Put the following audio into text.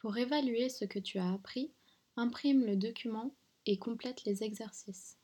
Pour évaluer ce que tu as appris, imprime le document et complète les exercices.